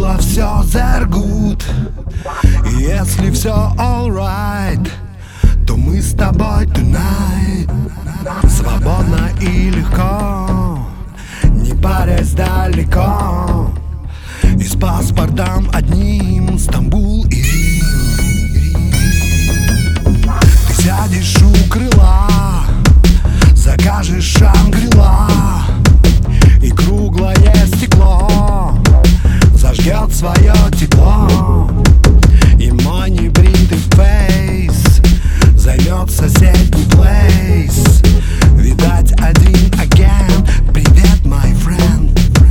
было все there good. И если все alright, то мы с тобой tonight. Свободно и легко, не парясь далеко, и с паспортом одним Стамбул и Рим. Ты сядешь у крыла, закажешь Шангри-Ла, и круглое стекло зажгет свое тепло, и мой небритый фейс займет соседний плейс. Видать, один агент. Привет, my friend.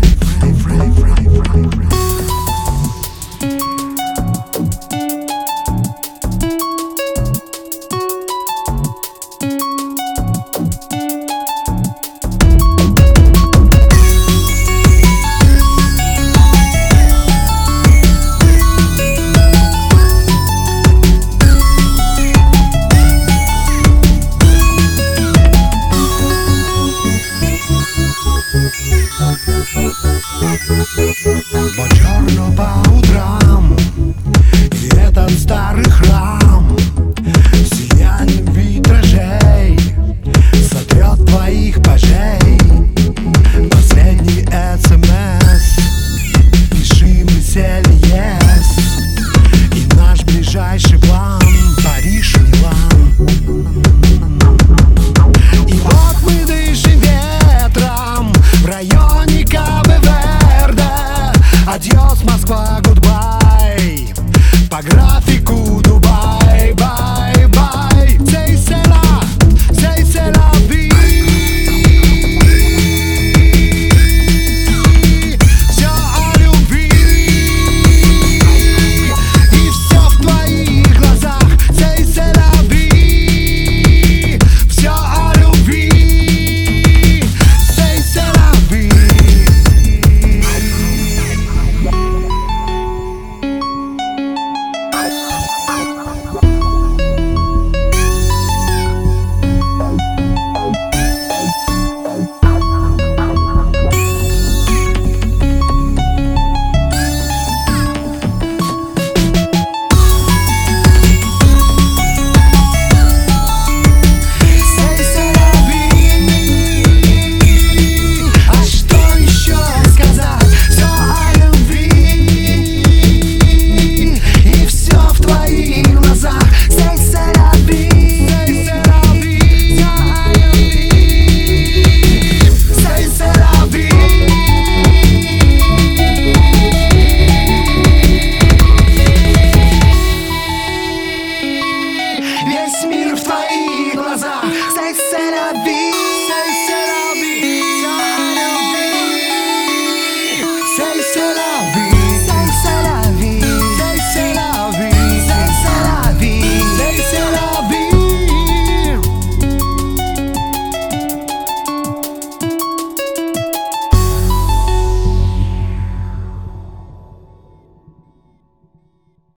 Buongiorno по утрам, и этот старый храм в сиянии витражей сотрет твоих пажей. Последний СМС, пиши веселье, и наш ближайший план Париж, Милан. И вот мы дышим ветром в районе Кабе-Верде. Адьос, Москва, гудбай, по графику Дубай, бай, бай. C'est la vie. Все о любви, и все в твоих глазах. C'est la vie. Все о любви, c'est la vie. Весь мир в твоих глазах. C'est la vie.